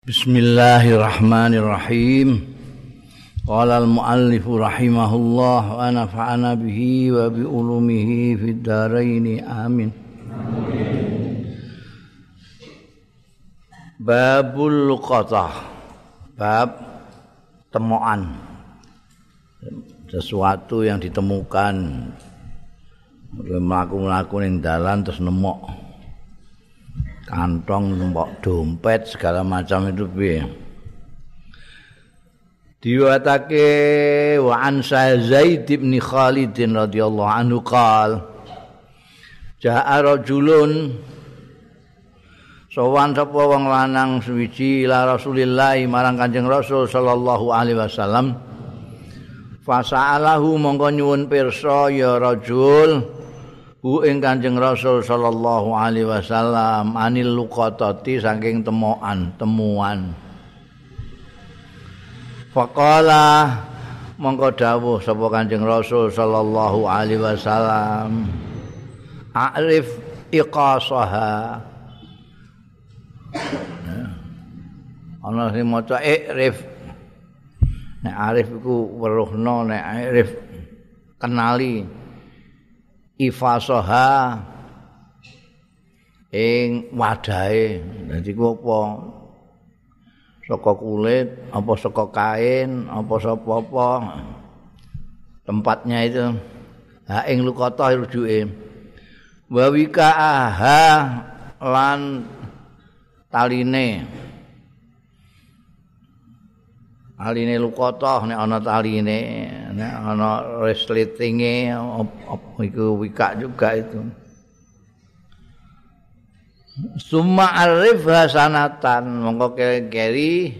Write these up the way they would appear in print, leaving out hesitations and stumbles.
Bismillahirrahmanirrahim. Qala al-muallif rahimahullah wa nafa'ana bihi wa bi ulumihi fid dharain amin. Babul luqatah. Bab temuan. Sesuatu yang ditemukan mlaku-mlaku ning dalan terus nemok kantong, nembok dompet segala macam itu piye. Diwatake wa an Zaid bin Khalid radhiyallahu anhu qala ja'a rajulun sowan sapa wong lanang suwiji ila Rasulillah marang Kanjeng Rasul sallallahu alaihi wasallam fasa'alahu mongko nyuwun pirsa ya rajul hu ing Kanjeng Rasul sallallahu alaihi wasallam anil luqatati saking temuan. Faqala mongko dawuh sapa Kanjeng Rasul sallallahu alaihi wasallam a'rif iqasaha. Ana sing maca i'rif. Nek arif iku weruhna, nek i'rif kenali ifasoha ing wadahe. Dadi ku apa? Saka kulit, apa saka kain, apa sapa-apa. Tempatnya itu ha ing luqatah rujuke. Wa wikaaha lan taline. Aline luqatah nek ana taline, nek ana resletinge iku wika juga itu. Summa arif hasanatan mongko keri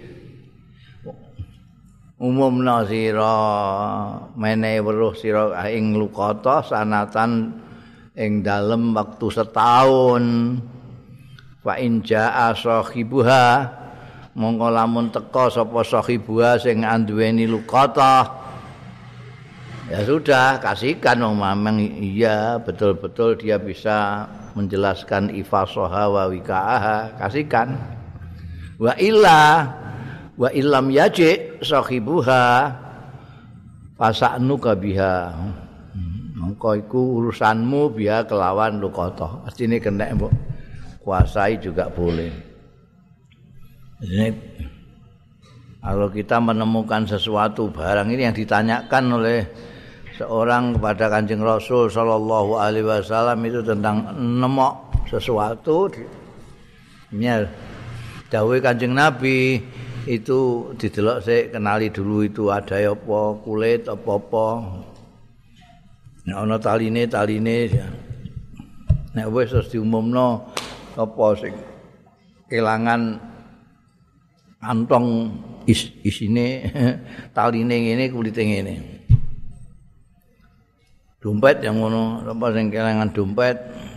umumna sira menehi weruh sira ing luqatah sanatan ing dalem waktu setahun. Fa in jaa sahibuha mongko lamun teka sapa sahibuha sing anduweni luqatah ya sudah kasihkan memang iya betul-betul dia bisa menjelaskan ifasoha wa wikaaha kasihkan wa illam yaji sahibuha fasa'nuka biha mongko iku urusanmu biha kelawan luqatah artine kena mbok kuasai juga boleh. Ini, kalau kita menemukan sesuatu barang ini yang ditanyakan oleh seorang kepada Kanjeng Rasul sallallahu alaihi wasallam itu tentang nemok sesuatu. Ini dawuh Kanjeng Nabi itu didelok sik kenali dulu itu ada apa kulit apa-apa. Nek ana taline nek wis terus diumumno apa sing kelangan kantong isine taline ngene kulite ngene. Dompet yang ngono apa sing kelangan dompet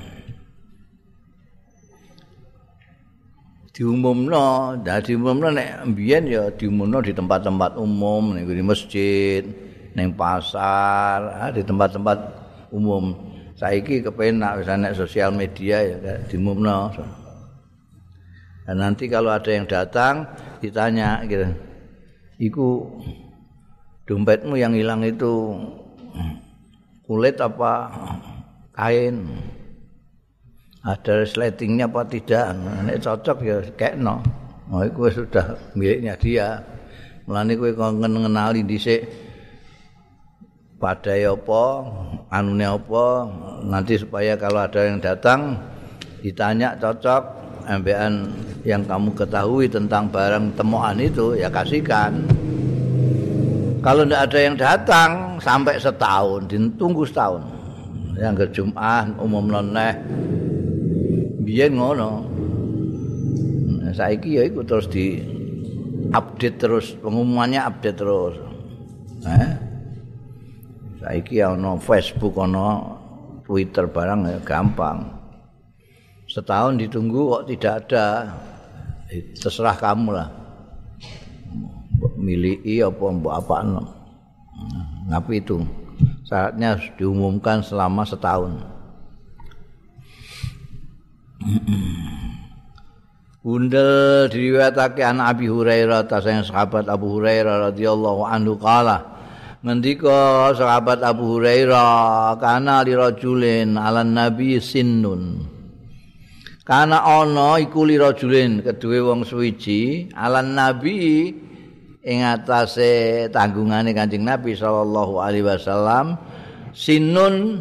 diumumno, diumumno nek mbiyen ya diumumno di tempat-tempat umum, ning di masjid, ning pasar, di tempat-tempat umum. Saiki kepenak wis nek sosial media ya diumumno. Dan nanti kalau ada yang datang ditanya gitu. Iku dompetmu yang hilang itu kulit apa kain? Ada resletingnya apa tidak? Nek cocok ya kekno. Oh iku sudah miliknya dia. Mulane kowe ngenali dhisik padai apa, anune apa, nanti supaya kalau ada yang datang ditanya cocok ambekan yang kamu ketahui tentang barang temuan itu ya kasihkan. Kalau tidak ada yang datang sampai setahun, ditunggu setahun. Yang ke Jumat umum noneh biyen ngono. Saiki ya iku terus di update terus, pengumumannya update terus. Saiki ana Facebook, ana Twitter barang ya gampang. Setahun ditunggu kok tidak ada, terserah kamu lah. Miliki apa mbok apakno. Tapi itu syaratnya harus diumumkan selama setahun. Bundel diriwayatake an Abi Hurairah tasing sahabat Abu Hurairah radhiyallahu anhu qala ngendika sahabat Abu Hurairah kana li rajulin alan nabi sinnun kana ana iku li rajulin keduwe wong suwiji alan nabi ing atase tanggungane Kanjeng Nabi sallallahu alaihi wasallam sinnun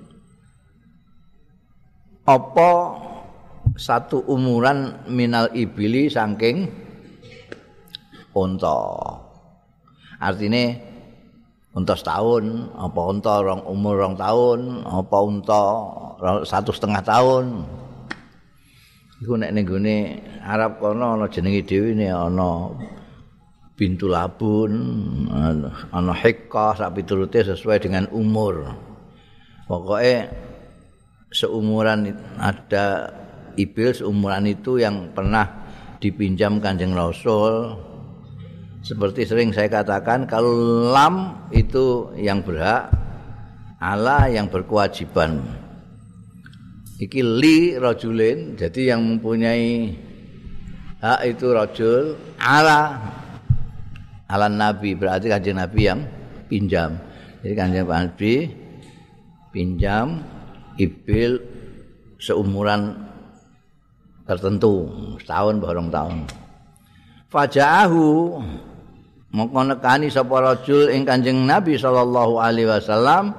apa satu umuran minal ibili saking unta. Artine unta setahun, apa unta umur 2 tahun, apa unta 1,5 tahun. Iku nek ning gone Arab kono ana jenenge dhewe ne ana bintu labun, ana hiqqah sak piturute sesuai dengan umur. Pokoknya seumuran ada ibil seumuran itu yang pernah dipinjam Kanjeng Rasul. Seperti sering saya katakan, kalau lam itu yang berhak, ala yang berkewajiban. Iki li rajulin, jadi yang mempunyai hak itu rajul, ala Nabi, berarti Kanjeng Nabi yang pinjam. Jadi Kanjeng Nabi pinjam ibil seumuran tertentu, setahun barang tahun. Faja'ahu mongko nekani sapa rajul ing Kanjeng Nabi sallallahu alaihi wasallam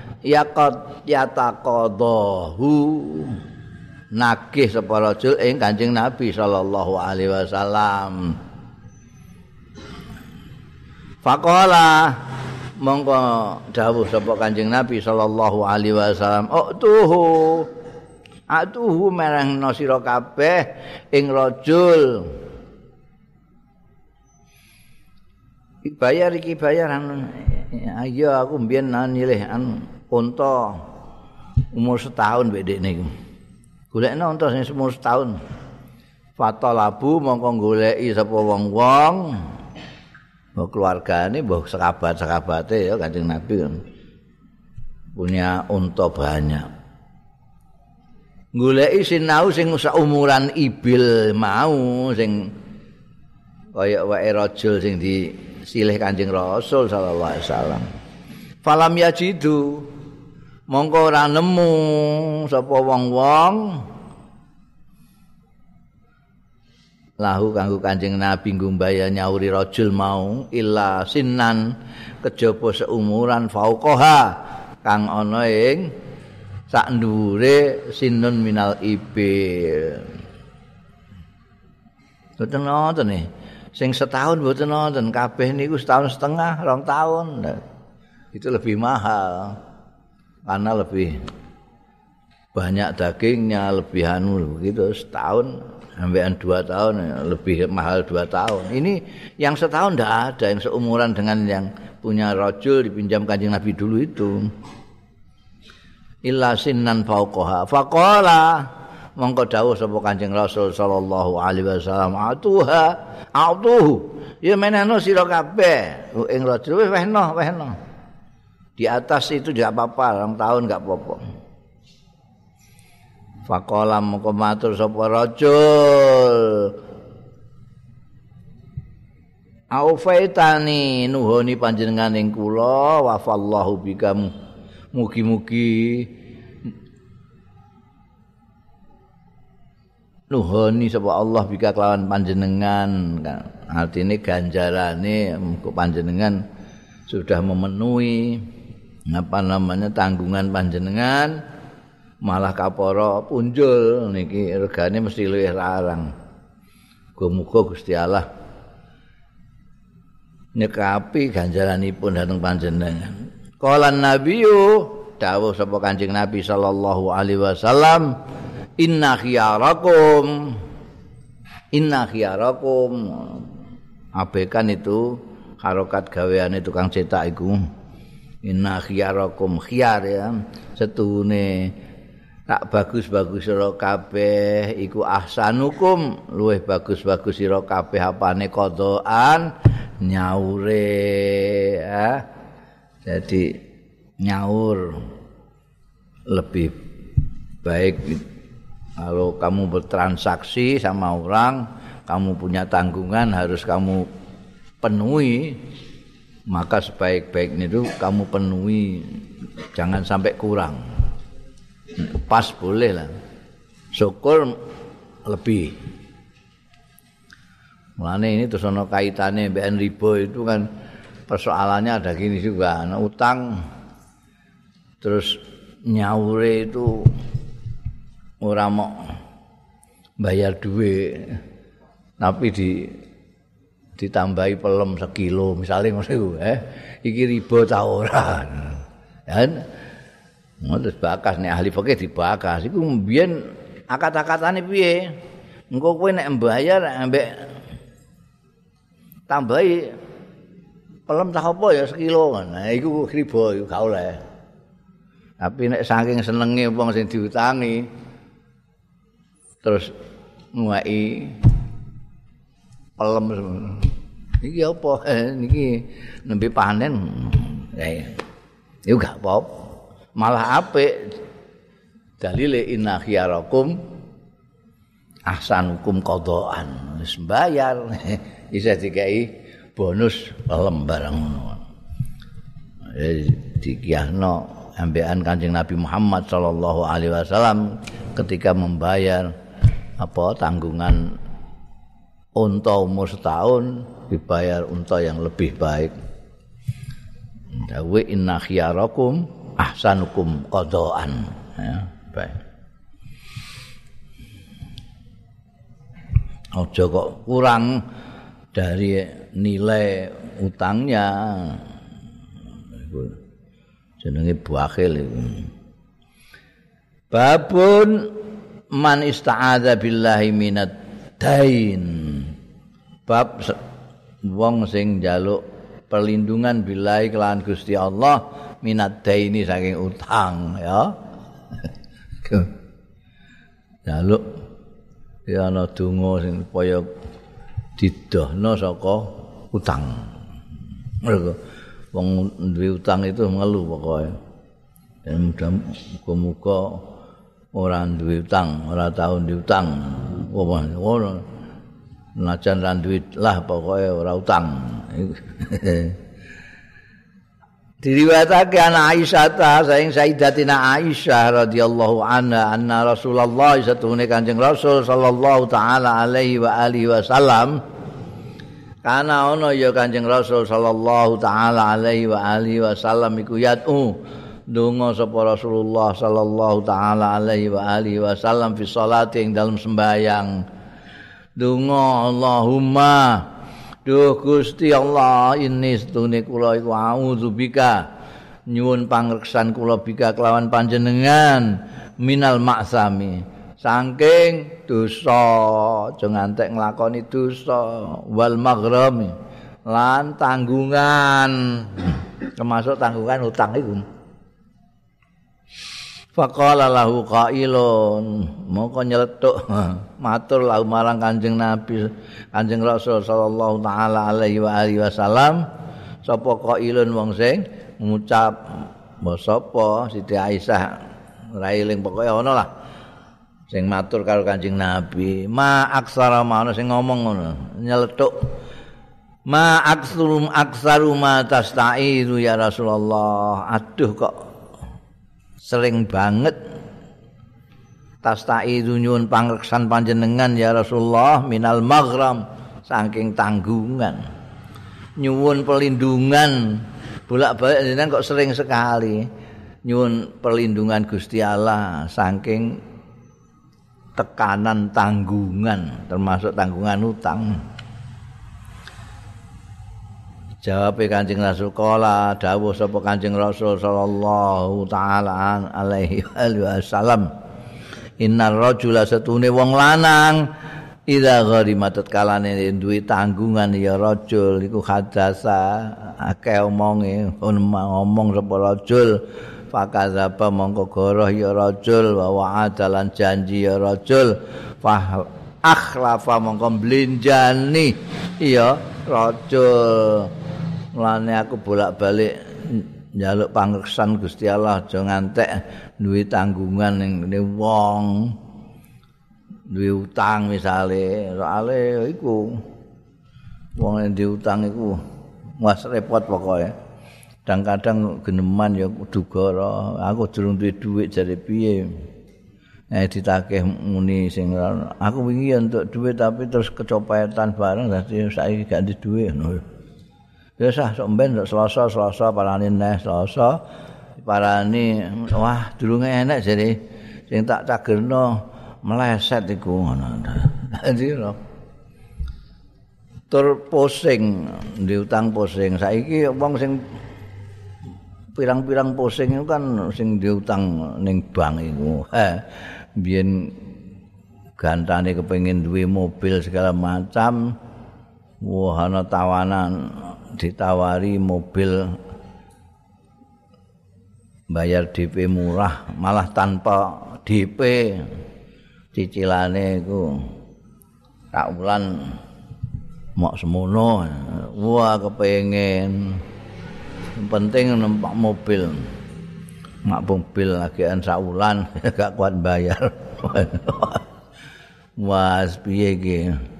yataqadahu nagih sapa rajul ing Kanjeng Nabi sallallahu alaihi wasallam. Faqala mongko dawuh sapa Kanjeng Nabi sallallahu alaihi wasallam atuhu merehna sira kabeh ing rajul bayar ayo aku mbiyen nyilih unta umur setahun mbek dekne iku golekna unta sing umur setahun fatalabu mongko goleki sapa wong-wong mbok keluargane mbok sekabat-sekabate ya Kanjeng Nabi kan punya unta banyak. Goleki sinau sing saumuran ibil mau sing kaya wae rajul sing disilih Kanjeng Rasul sallallahu alaihi wasallam. Falam yajidu mongko ora nemu sapa wong-wong lahu kanggo Kanjeng Nabi nggumbaya nyauri rajul mau illa sinan kejaba seumuran fauqaha kang ana ing sak ndure sinun minal ibil. Boten nonton nih. Sing setahun boten nonton, kabeh niku 1,5 tahun, 2 tahun. Nah, itu lebih mahal. Karena lebih banyak dagingnya, lebih begitu setahun sampai 2 tahun lebih mahal 2 tahun. Ini yang setahun ndak ada yang seumuran dengan yang punya rajul dipinjam Kanjeng Nabi dulu itu. Illa sinnan fauqaha faqala mongko dawuh sapa Kanjeng Rasul sallallahu alaihi wasallam atuhu ya menehno sira kabeh ing rajul wis wehno di atas itu tidak apa-apa 2 tahun enggak apa-apa. Faqala mongko matur sapa rajul aufaitani nuhoni panjenengan ing kula wafallahu bikamu mugi-mugi nuhoni sapa Allah bika kelawan panjenengan. Artine ganjarane panjenengan sudah memenuhi tanggungan panjenengan malah kapara punjul niki regane mesti luwih larang. Muga-muga Gusti Allah nyekapi ganjaranipun dhateng panjenengan. Qala Nabiyu dawuh sapa Kanjeng Nabi sallallahu alaihi wasallam inna khiyarakum abekan itu harokat gaweane tukang cetak iku inna khiyarakum khiyar ya setune tak bagus-bagus sira kabeh iku ahsanukum luwih bagus-bagus sira kabeh apane qadaan nyaure ya. Jadi nyaur lebih baik Kalau kamu bertransaksi sama orang, kamu punya tanggungan harus kamu penuhi, maka sebaik-baiknya itu kamu penuhi, jangan sampai kurang. Pas boleh lah, syukur lebih. Mulane ini terus ono kaitannya BN riba itu kan persoalannya ada gini juga, utang terus nyaure itu ora mau bayar duit tapi ditambahi pelem sekilo misalnya ngono iki riba ta ora kan terus bakas nek ahli fikih dibakas iku mbiyen akat-akatane piye engko kowe nek mbayar ambek tambahi pelem tak apa ya sekilo nah iku riba iku gak oleh tapi nek saking senenge wong sing diutangi terus nguwaki pelem iki apa niki nembe panen ya gak apa-apa malah apik dalile inna khiyarakum ahsanukum qadaan wis bayar bisa dikai bonus pelem barang ngono dikiyahno ambekan Kanjeng Nabi Muhammad sallallahu alaihi wasallam ketika membayar tanggungan unta umur setahun dibayar unta yang lebih baik. Dawe inna khiyarakum ahsanukum qadaan ya baik. Aja kok kurang dari nilai utangnya. Jenenge buakhil iku. Babun man ista'adza billahi minad dain. Bab wong sing njaluk perlindungan billahi kelawan Gusti Allah minad daini saking utang ya. Njaluk ya ana donga sing supaya didohno saka utang. Mergo wong duwe utang itu ngeluh pokoke. Dan muga-muga ora duwe utang, ora tau diutang. Ngono. Najan ra duwe lah pokoke ora utang. Diriwayatake ana Aisyah saing Sayyidatina Aisyah radhiyallahu anna Rasulullah satune Kanjeng Rasul sallallahu taala alaihi wa alihi wasallam kana ono ya Kanjeng Rasul sallallahu taala alaihi wa alihi wasallam iku yatu donga sapa Rasulullah sallallahu taala alaihi wa alihi wasallam fi sholati ing dalem sembahyang donga Allahumma duh Gusti Allah ini setune kula iku audzubika nyuwun pangreksan kula bika kelawan panjenengan minal maksami saking dosa aja ngantek nglakoni dosa wal maghrami lan tanggungan termasuk tanggungan utang iku faqala lahu qailun moko nyeletuk matur lahu marang Kanjeng Nabi Kanjeng Rasul sallallahu taala alaihi wa alihi wasallam sapa qailun wong sing ngucap mbok sapa Siti Aisyah ora eling pokoke ana lah sing matur karo Kanjeng Nabi ma aksara ana sing ngomong ngono nyeletuk ma aksaru ma tasta'iru ya Rasulullah aduh kok sering banget tasta'idu nyuwun pangreksan panjenengan ya Rasulullah minal maghram saking tanggungan nyuwun perlindungan bolak-balik jenengan kok sering sekali nyuwun perlindungan Gusti Allah saking tekanan tanggungan termasuk tanggungan utang. Jawab Kanjeng Rasul kala dawuh sapa Kanjeng Rasul sallallahu taala alaihi wasallam innar rajula satune wong lanang idza gharima tatkalane duwe tanggungan ya rajul iku hadasa akeh omonge ngomong sapa rajul fakadzaba mongko goroh ya rajul wa wa'adalan janji ya rajul fa akhlafa mongko blenjani ya rajul. Mulane aku bolak-balik njaluk pangreksan Gusti Allah aja ngantek duwe tanggungan ning wong. duwe utang misale, soalé iku wong yang diutang iku wis repot pokoke. Kadang-kadang geneman ya dugara, aku durung duwe dhuwit jare piye. Ditakeh muni sing aku wingi ya entuk dhuwit tapi terus kecopetan bareng dadi saiki gak ndek dhuwit ngono. Ya sah sok mben Selasa parani neh Selasa parani wah durung enek jare sing tak cagerno meleset iku ngono. Dadi tur pusing diutang pusing saiki wong sing pirang-pirang pusing itu kan sing diutang ning bank iku. Biyen gantane kepengin duwe mobil segala macam. Wah ana tawanan ditawari mobil bayar DP murah malah tanpa DP. Cicilane iku sak wulan mok semono. Wah kepengin penting numpak mobil. Mak mobil lagian sak wulan gak kuat bayar. Wah, piye iki?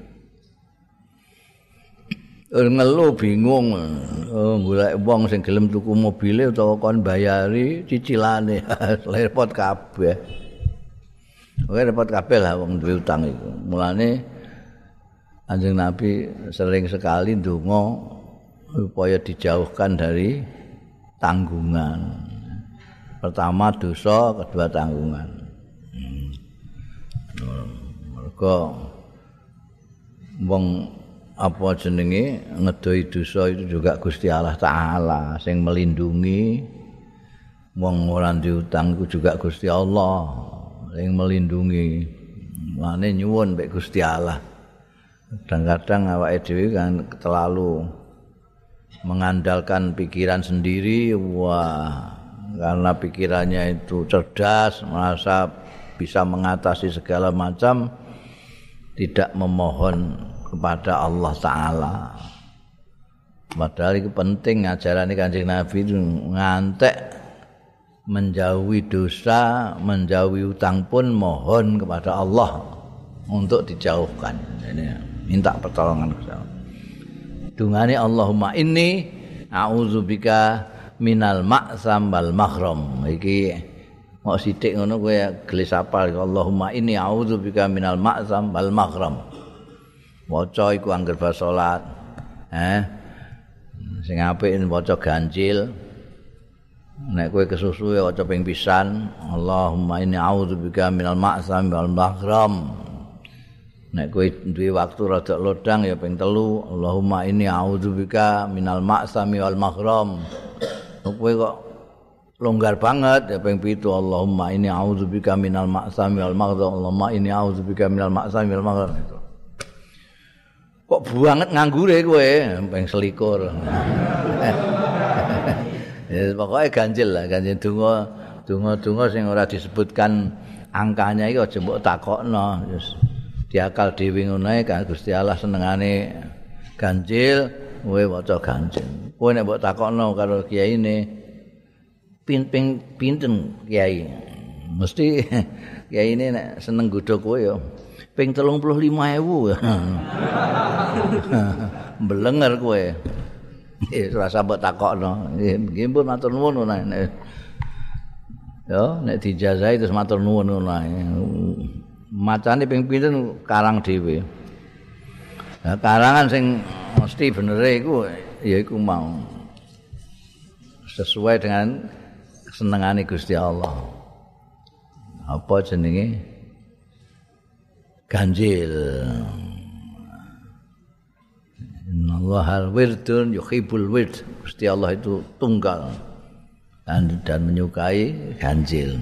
Ngeluh bingung. Golek wong sing gelem tuku mobile utawa kon bayari cicilane. Repot kabeh. Repot kabeh lah wong duwe utang iku. Mulane Kanjeng Nabi sering sekali ndonga supaya dijauhkan dari tanggungan. Pertama dosa, kedua tanggungan. Mergo wong apa jenenge ngedoi dosa itu juga Gusti Allah Taala sing melindungi. Wong ora diutang iku juga Gusti Allah sing melindungi. Mane nyuwun mek Gusti Allah. Kadang-kadang awake dhewe kan terlalu mengandalkan pikiran sendiri, wah karena pikirannya itu cerdas, merasa bisa mengatasi segala macam, tidak memohon kepada Allah Ta'ala. Padahal itu penting ajaran Kanjeng Nabi itu ngantek menjauhi dosa, menjauhi utang pun mohon kepada Allah untuk dijauhkan. Ini minta pertolongan kepada Allah. Dungane Allahumma inni a'udzubika minal ma'sam wal maghram. Iki mau sithik ngono kowe gelis apal Allahumma inni a'udzubika minal ma'sam wal maghram. Waca iku angger ba salat. Sing apik waca ganjil. Nek kowe kesusu waca ping pisan Allahumma inni a'udzubika minal ma'sam wal maghram. Nek kowe duwe waktu rada lodang ya ping 3 Allahumma inni a'udzubika minal ma'sami wal maghram. Kowe kok longgar banget ya ping 7 Allahumma inni a'udzubika minal ma'sami wal maghram. Allahumma inni a'udzubika minal ma'sami wal maghram. Kok banget nganggure kowe ping 21. Ya pokoke ganjil lah, ganjil donga sing ora disebutkan angkanya iki aja mbok takokno. Diakal dhewe ngono ae kan Gusti Allah senengane ganjil, kowe waca ganjil. Kowe nek mbok takokno karo kiyaine pinten kiai. Mesti kiyaine nek seneng godho kowe ya ping 35.000. Mbelenger kowe. Ora usah mbok takokno. Nggih pun matur nuwun ngono. Yo nek dijazahi terus matur nuwun ngono ae. Macane ping pinten karang dhewe. Nah, karangan sing mesti benere iku ya iku mau sesuai dengan kesenengane Gusti Allah. Apa jenenge? Ganjil. Innallaha wirdun yuhibbul wird. Gusti Allah itu tunggal dan menyukai ganjil.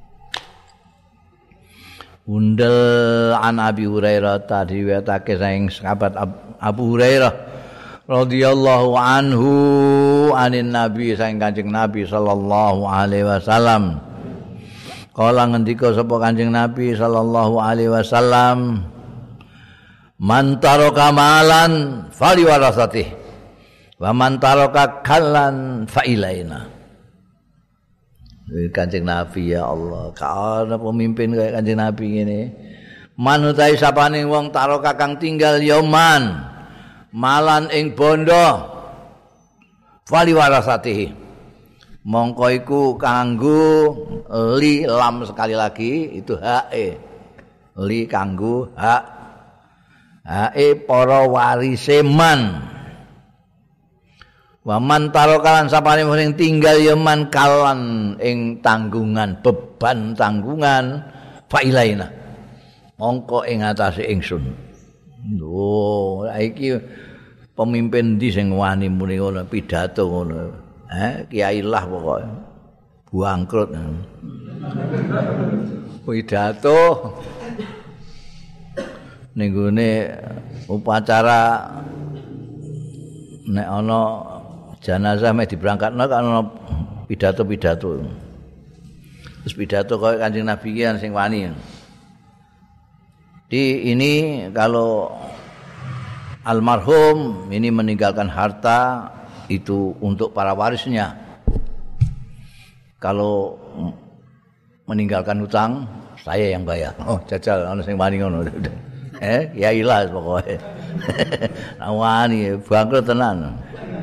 Undel an Abi Hurairah tadi wetake saking sahabat Abu Hurairah radhiyallahu anhu anin Nabi saking Kanjeng Nabi sallallahu alaihi wasallam. Kala ngendika sapa Kanjeng Nabi sallallahu alaihi wasallam, "Man taraka malan fali warasatih wa man taraka kallan fa ilaina." Kanjeng Nabi ya Allah, kalau pemimpin kayak Kanjeng Nabi ini manutai sapane wong taroka kang tinggal yoman malan ing bondo fali warasatihi mongko iku kanggo li lam sekali lagi itu hae li kanggo hae para warise man waman tarokalan sapane sing tinggal yoman kalan ing tanggungan beban tanggungan failaina mongko ing atase ingsun. Lho, iki pemimpin ndi sing wani muni ngono pidato ngono. Kiai lah pokoke. Bangkrut. Pidato ning gone upacara nek ana jenazah mek diberangkatno kan ana pidato-pidato. Terus pidato koyo Kanjeng Nabi ki sing wani. Ini kalau almarhum ini meninggalkan harta itu untuk para warisnya. Kalau meninggalkan hutang saya yang bayar. Oh, jajal ana sing wani ngono. Ya ilah pokoke. Wani bangkrut tenan.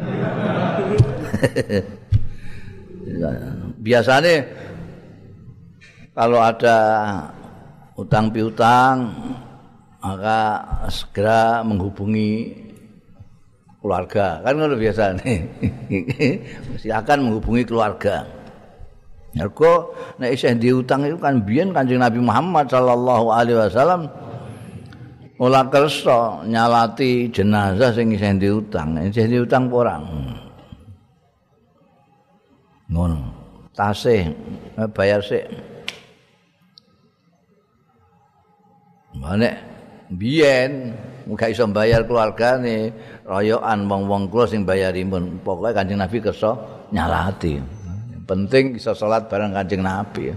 Biasanya kalau ada utang piutang maka segera menghubungi keluarga kan ngono biasa nih. Silakan menghubungi keluarga. Mergo nek isih diutang itu kan biyen Kanjeng Nabi Muhammad sallallahu alaihi wasallam ora kersa nyalati jenazah sing isih diutang. Isih diutang ora. Ngono. Tasih bayar sik. Manek biyen gak iso bayar keluargane, royokan wong-wong kula sing bayaripun. Pokoke Kanjeng Nabi kersa nyalati. Penting iso salat bareng Kanjeng Nabi.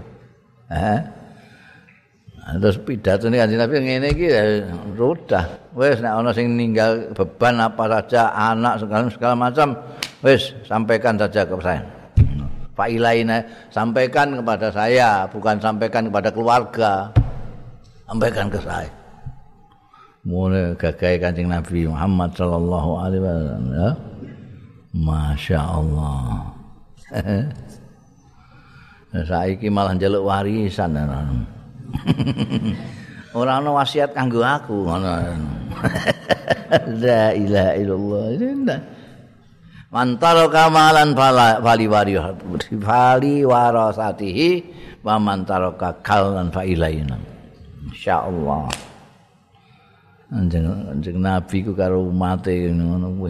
Terus pidatone Kanjeng Nabi ngene iki sudah. Wis nek ana sing ninggal beban apa saja, anak segala macam, wis sampaikan saja ke saya. Failaina sampaikan kepada saya, bukan sampaikan kepada keluarga. Sampaikan ke saya. Mulai gagahe Kanjeng Nabi Muhammad sallallahu alaihi wasallam ya. Masya Allah. Saiki malah njaluk warisan. Ora ana wasiat kanggo aku ngono. La ilaha illallah. Mantaro kamalan fali warasatihi wa mantaro kalan failaina. Insyaallah. Anjing Nabi ku karo umate ngono kuwi.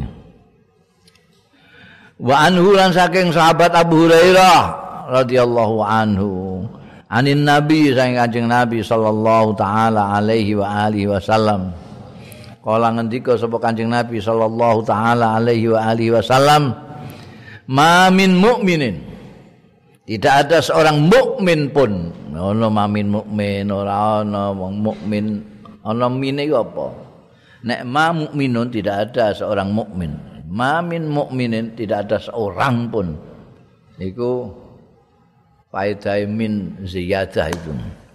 Wa anhu lan saking sahabat Abu Hurairah radhiyallahu anhu. Anin Nabi saking Kanjeng Nabi sallallahu taala alaihi wa alihi wasallam. Kala ngendika sapa Kanjeng Nabi sallallahu taala alaihi wa alihi wasallam, "Ma min mukminin." Tidak ada seorang mukmin pun. Ono mamin mukmin ora ana wong mukmin. Ana mine iku apa? Nek ma mukminun tidak ada seorang mukmin. Ma min mukminin tidak ada seorang pun. Iku faedah min ziyadah itu.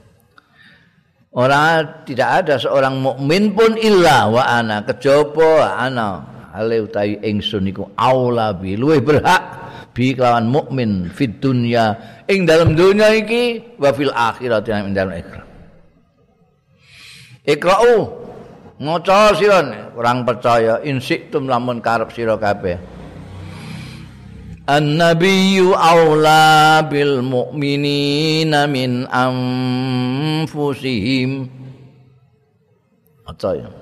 Tidak ada seorang mukmin pun illa wa ana kejaba ana ale utawi ingsun iku aula bi luwih berhak bi kelawan mukmin fid dunya ing dalam dunia iki wa fil akhirat ing dalam akhirat. Iqra'u maca sira kurang percaya insiktum lamun karep sira kabeh. An-nabiyyu aula bil mu'minina min anfusihim. Maca ya.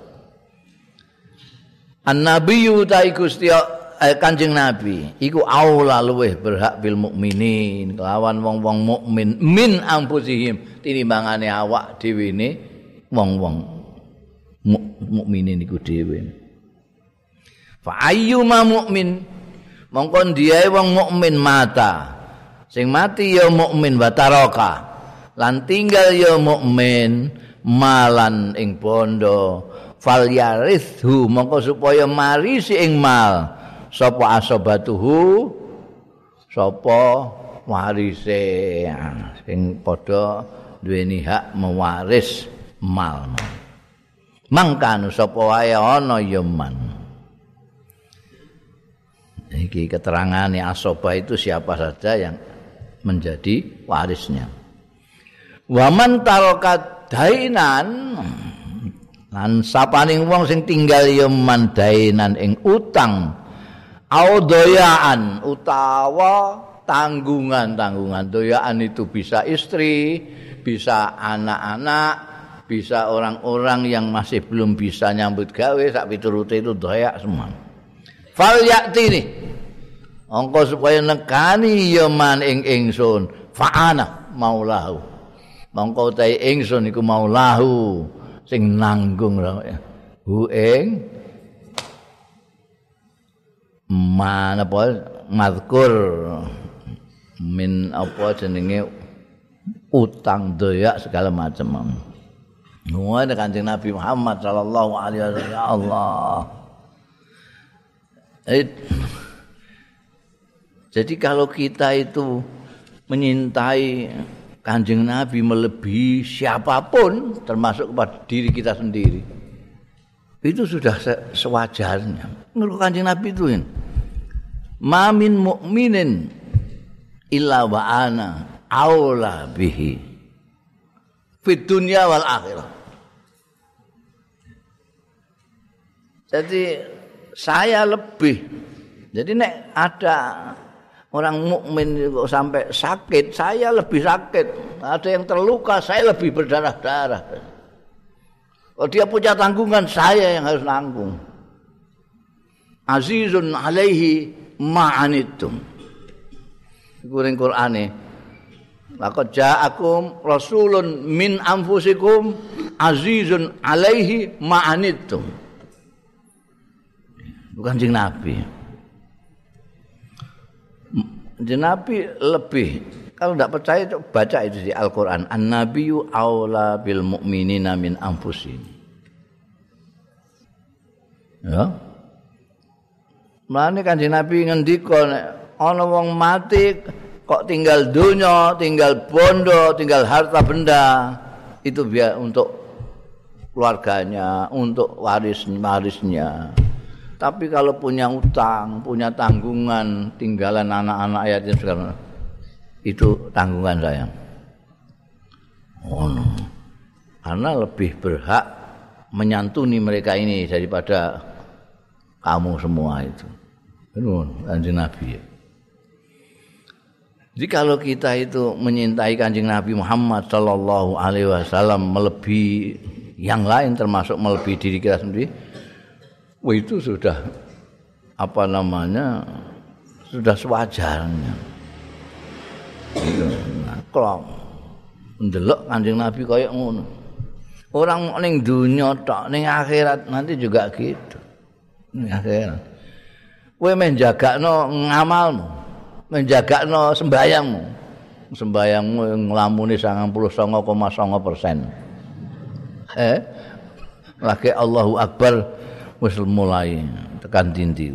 An-nabiyyu ta Gusti Kanjeng Nabi iku aula luweh berhak bil mukminin kelawan wong-wong mukmin min anfusihim tinimbangane awak dhewe ne wong-wong mukminin iku dhewe. Fa ayyuma mukmin mongko ndiae wong mukmin mata sing mati ya mukmin wa taraka lan tinggal ya mukmin malan ing bondo fal yarithu mongko supaya marisi ing mal sapa asobatuhu sapa warise sing padha duweni hak mewaris mal. Mangkanu sapa wae ana ya man. Iki keterangane asoba itu siapa saja yang menjadi warisnya. Waman tarokat dainan lan sapaning wong sing tinggal ya man dainan ing utang audoyaan utawa tanggungan. Doyaan itu bisa istri, bisa anak-anak, bisa orang-orang yang masih belum bisa nyambut gawe sak piturute itu doyak semua. Fal yaktini angka supaya nekani ya man ing ingsun fa'ana maulahu. Mongko ta ingsun iku maulahu sing nanggung hu ing mana apa mazkur min apa jenenge utang doyak segala macam. Nuwun Kanjeng Nabi Muhammad sallallahu alaihi wasallam ya Allah. Jadi kalau kita itu menyintai Kanjeng Nabi melebihi siapapun termasuk kepada diri kita sendiri. Itu sudah sewajarnya. Menurut Kanjeng Nabi itu ma min mu'minin illa wa ana aula bihi fid dunya wal akhirah. Jadi saya lebih. Jadi nek ada orang mukmin kok sampai sakit, saya lebih sakit. Ada yang terluka, saya lebih berdarah-darah. Kalau dia punya tanggungan, saya yang harus nanggung. Azizun alaihi ma'anittum. Iku ning Qur'ane. Laqad ja'akum rasulun min anfusikum azizun alaihi ma'anittum. Bukan Kanjeng Nabi. Kanjeng Nabi lebih. Kalau tidak percaya baca itu di Al-Qur'an. An-nabiyyu aula bil mu'minina min anfusihim. Ya. Mulane Kanjeng Nabi ngendika nek ana wong mati kok tinggal donya, tinggal bondo, tinggal harta benda, itu biar untuk keluarganya, untuk warisnya. Tapi kalau punya utang, punya tanggungan, tinggalan anak-anak yatim segala itu tanggungan saya. Oh no. Karena lebih berhak menyantuni mereka ini daripada kamu semua itu. Benar, Kanjeng Nabi. Jadi kalau kita itu menyintai Kanjeng Nabi Muhammad sallallahu alaihi wasallam melebihi yang lain termasuk melebihi diri kita sendiri, itu sudah apa namanya? Sudah sewajarnya. Kalau ndelok Kanjeng Nabi kayak ngono. Orang ning dunya tok, ning akhirat nanti juga gitu. Ning akhirat. Kowe menjagakno ngamalmu, menjagakno sembayangmu. Sembayangmu nglamune 99,9%. Lagi Allahu Akbar wis mulai tekan dindi.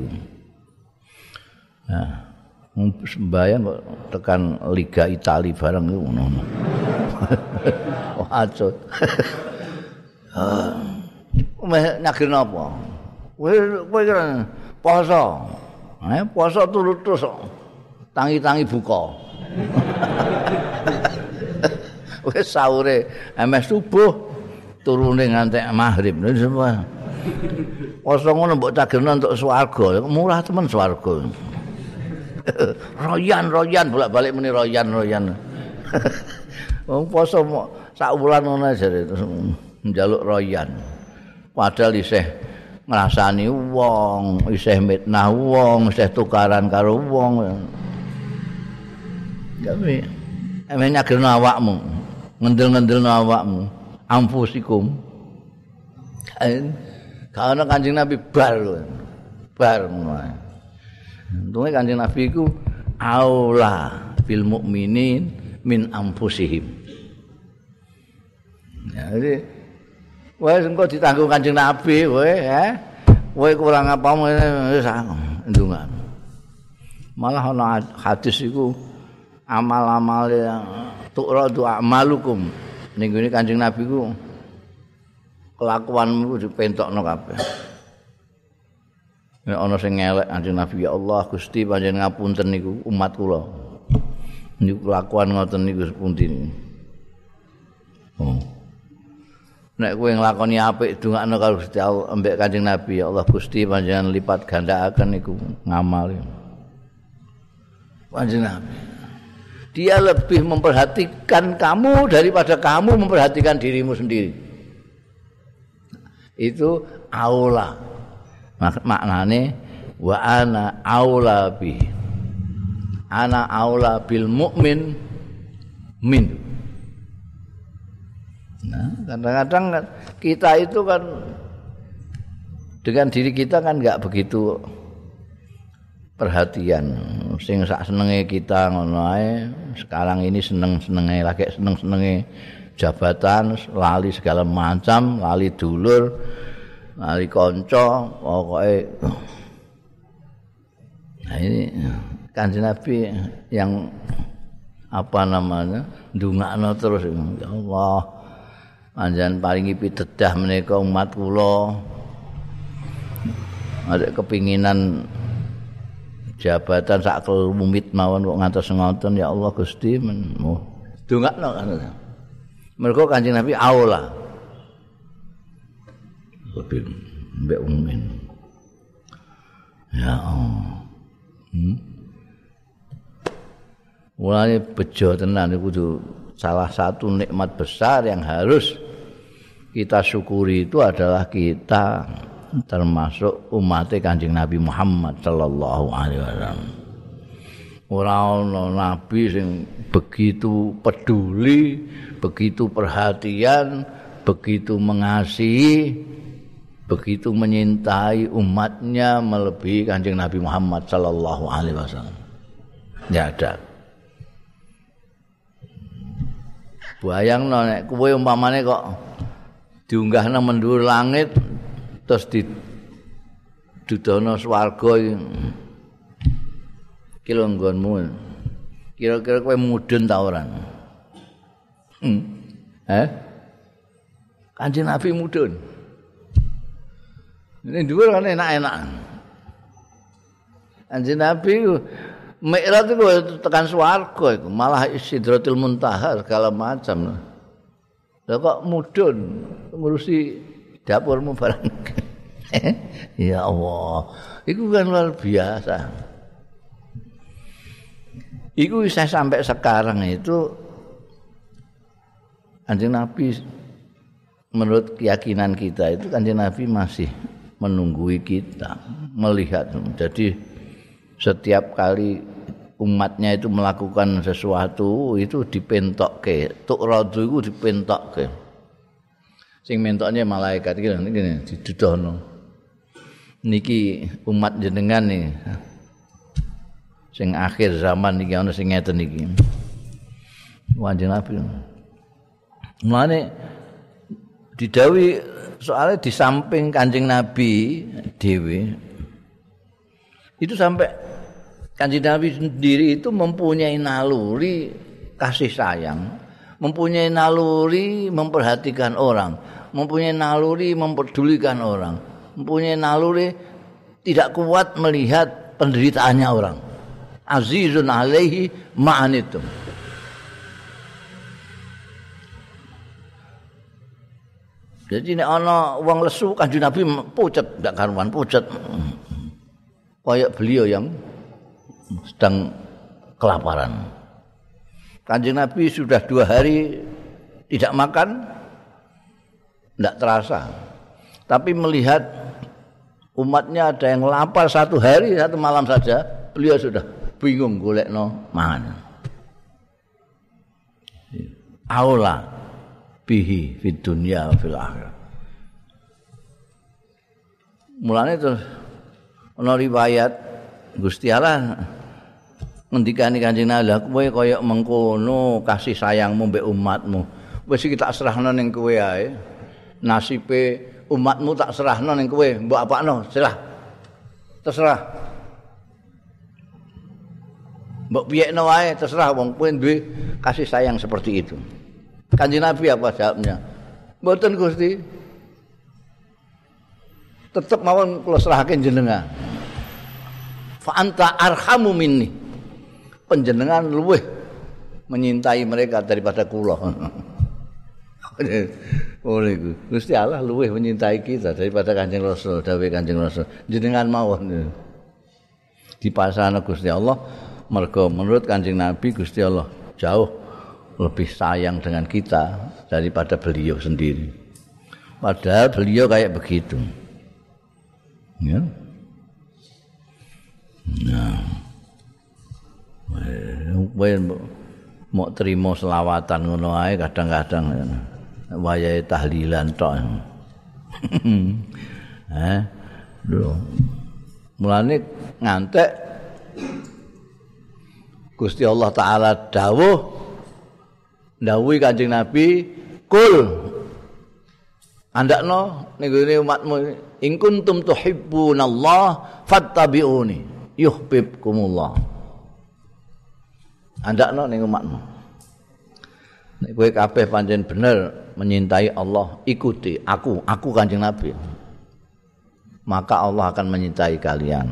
Nah, sembayang kok tekan Liga Italia bareng iku ngono. Oh, acut. Nyagir napa? Kowe kira poso. Poso turu terus tangi-tangi buka. Wis sahure emes subuh turune nganti maghrib semua. Poso ngono mbok cagirno untuk swarga, murah temen swarga. Royan bolak-balik muni royan. Wong poso sak wulan ngono jare terus njaluk royan. Padahal isih ngrasani wong, isih mitnah wong, isih tukaran karo wong. Tapi emeh nyagirno awakmu, ngendel-ngendelno awakmu, amfusikum. Karena Kanjeng Nabi bar ngono. Untunge Kanjeng Nabi iku aula bil mukminin min anfusihim. Ya, jadi wis engko ditanggung Kanjeng Nabi kowe, kowe kurang apamu wis ndonga. Malah ana hadis iku amal-amal yang tu'radu a'malukum. Ning ngene Kanjeng Nabi ku kelakuanmu dipentokno kabeh. Nek ana sing ngelek Kanjeng Nabi, ya Allah Gusti panjenengan ngapunten niku umat kula. Niku kelakuan ngoten niku sepundi. Oh. Nek kowe nglakoni apik dongakno karo Gusti Allah ambek Kanjeng Nabi, ya Allah Gusti panjenengan lipat gandakaken niku ngamal. Kanjeng Nabi. Dia lebih memperhatikan kamu daripada kamu memperhatikan dirimu sendiri. Itu aula. Maknane wa ana aula bi. Ana aula bil mukmin min. Nah, kadang-kadang kan kita itu kan dengan diri kita kan enggak begitu perhatian. Sing sak senenge kita ngono ae. Sekarang ini seneng-senenge lagi seneng-senenge jabatan, lali segala macam, lali dulur, lali kanca, pokoke. Nah ini Kanjeng Nabi yang apa namanya? Ndongakno terus ya Allah. Panjenengan paringi pitedah menika umat kula. Ada kepinginan jabatan sak kelumit mawon kok ngantos ngoten ya Allah Gusti ndongakno kan. Mergo Kanjeng Nabi aula. Lebih mbek umin. Ya Allah. Mulane bejo tenan iku kudu salah satu nikmat besar yang harus kita syukuri itu adalah kita termasuk umat Kanjeng Nabi Muhammad sallallahu alaihi wasallam. Ora ana nabi sing begitu peduli, begitu perhatian, begitu mengasihi, begitu menyintai umatnya melebihi Kanjeng Nabi Muhammad sallallahu alaihi wasallam. Ya ada. Bayangno nek kowe umpamane kok diunggahna mendhuwur langit terus didudono swarga iki lho nggonmu. Kira-kira kowe mudhun ta ora? Kanjeng Nabi mudhun. Ini dhuwur kan enak-enak. Kanjeng Nabi Mi'raj itu tekan swarga iku, malah Sidratul Muntaha segala macam. Lah kok mudhun ngurusi dapurmu barang. Ya Allah, itu kan luar biasa. Iku saya sampai sekarang itu Kanjeng Nabi menurut keyakinan kita itu Kanjeng Nabi masih menunggui kita, melihat. Jadi setiap kali umatnya itu melakukan sesuatu itu dipentokke, tukradu iku dipentokke. Sing mentoknya malaikat iki ngene didudono. Niki umat jenengan nih. Sing akhir zaman iki ana sing ngeten iki. Kanjeng Nabi. Mulane didhawuhi soalnya di samping Kanjeng Nabi dhewe itu sampai Kanjeng Nabi sendiri itu mempunyai naluri kasih sayang, mempunyai naluri memperhatikan orang, mempunyai naluri memperdulikan orang, mempunyai naluri tidak kuat melihat penderitaannya orang. Azizun alaihi ma'anitum. Jadi nek ana wong lesu Kanjeng Nabi pucet, ndak karuan pucet. Kayak beliau yang sedang kelaparan. Kanjeng Nabi sudah 2 hari tidak makan, tidak terasa. Tapi melihat umatnya ada yang lapar 1 hari 1 malam saja, beliau sudah bingung golekno mangan. Aula bihi fid dunya fil akhirah. Mulane terus ana riwayat Gusti Allah ngendikane Kanjeng Nabi, kowe kaya mengkono kasih sayangmu mbek umatmu. Wis iki tak serahno ning kowe ae. Nasibe umatmu tak serahno ning kowe, mbok apakno, serah. Terserah. Mbok piyekno wae terserah wong kowe duwe kasih sayang seperti itu. Kanjeng Nabi apa jawabnya? Mboten Gusti. tetep mawon kula serahake jenengan. Fa anta arhamu minni. Panjenengan luweh menyintai mereka daripada kula. Oleh Gusti Allah luweh menyintai kita daripada Kanjeng Rasul, dawuh Kanjeng Rasul. Jenengan mawon dipasrahna Gusti Allah mergo menurut Kanjeng Nabi Gusti Allah jauh lebih sayang dengan kita daripada beliau sendiri. Padahal beliau kayak begitu. Ya. Nah. Mau terima selawatan ngono ae kadang-kadang wayahe tahlilan tok. Mulane ngantek Gusti Allah taala dawuhi Kanjeng Nabi, "Kul andakno ning gone umatmu, in kuntum tuhibbunallah fattabi'uni yuhibbukumullah." Andakno ning umatmu. Nek kowe kabeh pancen bener menyintai Allah, ikuti aku Kanjeng Nabi. Maka Allah akan menyintai kalian.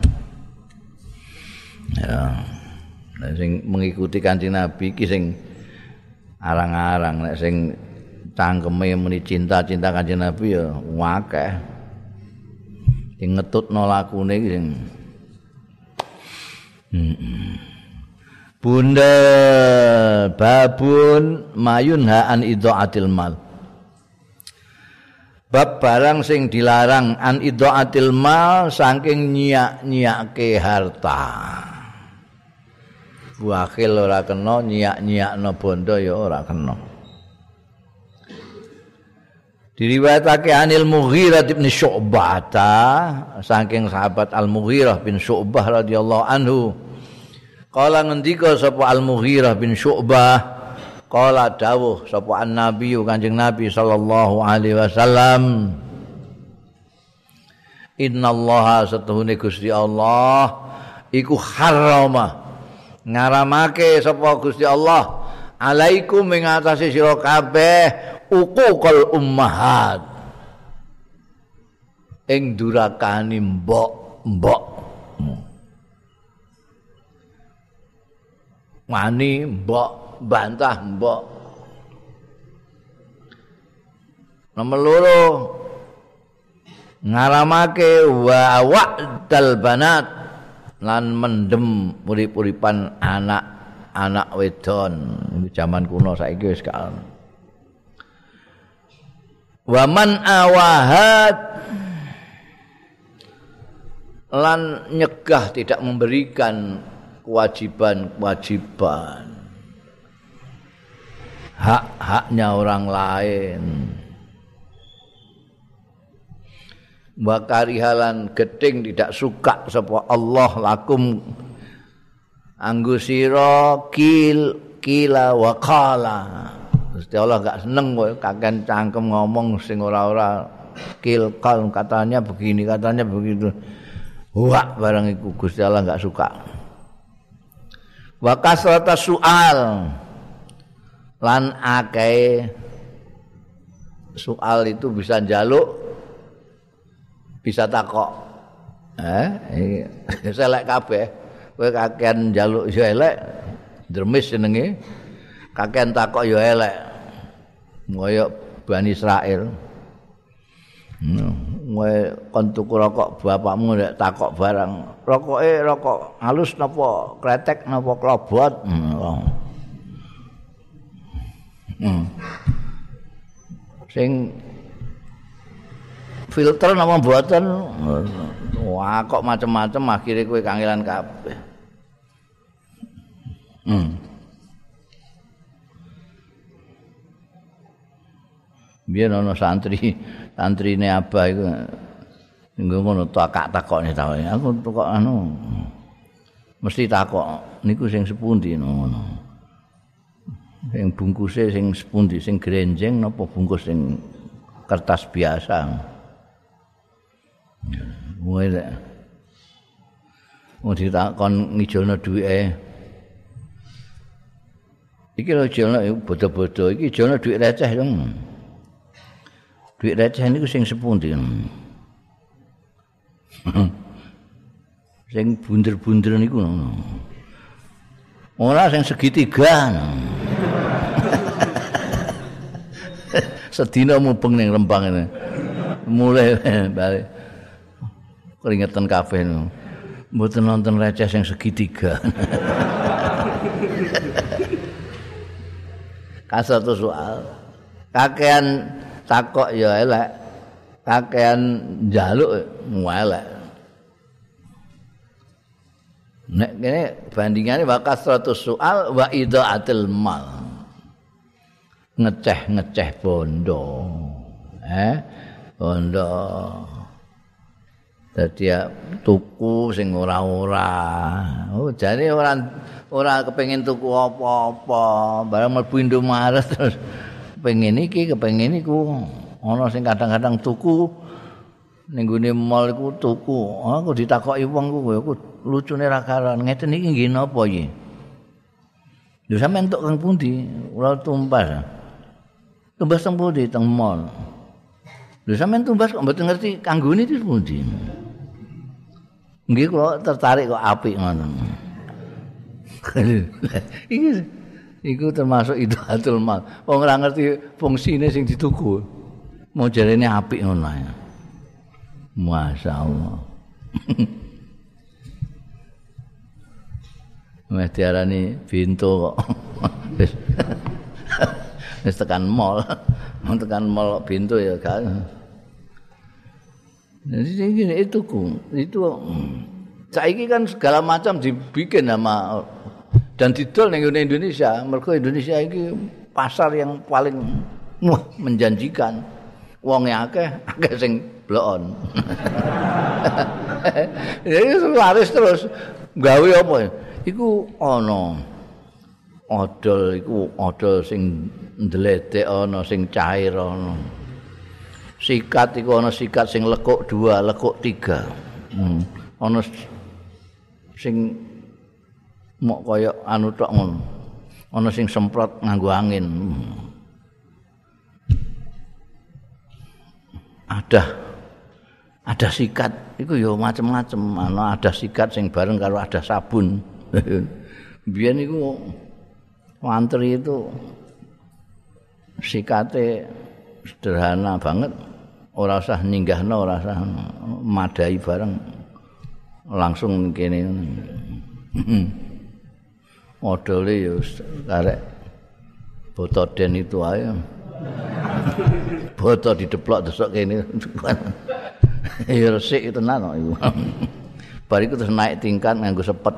Ya. Nek sing mengikuti Kanjeng Nabi iki sing arang-arang, nek sing cangkeme muni cinta Kanjeng Nabi ya akeh. Sing ngetutno lakune iki sing Bunda babun mayunha an idhaatil mal. Bab barang sing dilarang an idhaatil mal saking nyiak-nyiake harta. Wakil ora kena, nyiak-nyiakno bondo ya ora kena. Diriwayatake Anil Mughirah bin Syu'bah saking sahabat Al-Mughirah bin Syu'bah radhiyallahu anhu. Kala ngendika sapa Al-Mughirah bin Syu'bah, kala dawuh sapa An-Nabi Kanjeng Nabi sallallahu alaihi wasallam, innallaha satuhune Gusti Allah iku harrama ngaramake sapa Gusti Allah alaikum ing atase sira kabeh uququl ummahat ing durakani mbok wani mbok bantah mbok. Nomor loro ngaramake wa wa'dal banat lan mendem urip-uripan anak wedon. Iki zaman kuno saiki wis gak. Wa man awahat lan nyegah tidak memberikan kewajiban hak-haknya orang lain. Wa karihalan gedeng tidak suka sapa Allah lakum anggo sira kila wa qala. Gusti Allah enggak seneng kowe kaken cangkem ngomong sing ora-ora kal katanya begini katanya begitu. Wah barang iku Gusti Allah enggak suka. Wa kasrata soal lan akeh soal itu bisa njaluk bisa takok. Selek kabeh. Kowe kakean njaluk ya elek, dremis jenenge. Kakean takok ya elek. Kaya Bani Israil. Kowe kon tuku rokok bapakmu nek takok barang. Rokoke rokok halus napa kretek napa klobot. Sing filter napa mboten. Wah kok macam-macam akhire kowe kangelan kabeh. Biyen ana santrine Abah iku ngono takok-takokne ta. Aku kok anu mesti takok niku sing sepundi ngono. Sing bungkuse sing sepundi sing grenjeng napa bungkus sing kertas biasa. Mulai mau ditakon ngijolno duwike. Iki lho jolno bodo-bodo iki jolno duwit receh lho. Duit receh niku sing sepundi. Sing bunder-bunder niku. Ora sing segitiga. Sedina mubeng ning Rembang ini. Mulai balik. Keringetan kabeh. Mboten nonton receh sing segitiga. Kasatu soal. Kakean takok ya elek. Kakean njaluk elek. Nek kene bandingane wa kasratus soal wa idaatil mal. Ngeceh bondo. Bondo. Dadi tuku sing ora-ora. Oh, jane ora kepengin tuku apa-apa, barang mlebu Indomaret terus kepengin iki, kepengin iku. Ana sing kadang-kadang tuku ning gone mall iku tuku. Aku ditakoki wong ku lucune ra karan. Ngeten iki nggih napa iki? Lho sampean entuk kang pundi? Ora tumbas. Tumbas teng pundi? Teng mall. Lho sampean tumbas kok mboten ngerti kanggone iki pundi? Nggih kula tertarik kok apik ngono. Iku termasuk idaatul mal. Wong ora ngerti fungsine sing dituku. Mau jarene apik ngono ae. Masyaallah. Wis diarani bintu kok. Wis tekan mall. Tekan mall bintu ya gak. Jadi itu saiki kan segala macam dibikin sama dan didol ning Indonesia. Mergo Indonesia iki pasar yang paling menjanjikan. Wonge akeh sing blokon. Jadi laris terus gawe apa? Iku ana odol sing ndledek ana sing cair ana. Sikat iku ana sikat sing lekuk 2, lekuk 3. Ana sing mok kaya anu tok ngono. Ana sing semprot nganggo angin. Ada sikat iku ya macem-macem. Ana ada sikat sing bareng karo ada sabun. Biyen iku antri itu sikate sederhana banget. Ora usah ninggahno, ora usah madai bareng. Langsung kene. Modele ya karek botoden itu ae. Boto dideplok desok kene. Ya resik tenan kok iku. Bar iku terus naik tingkat nganggo sepet.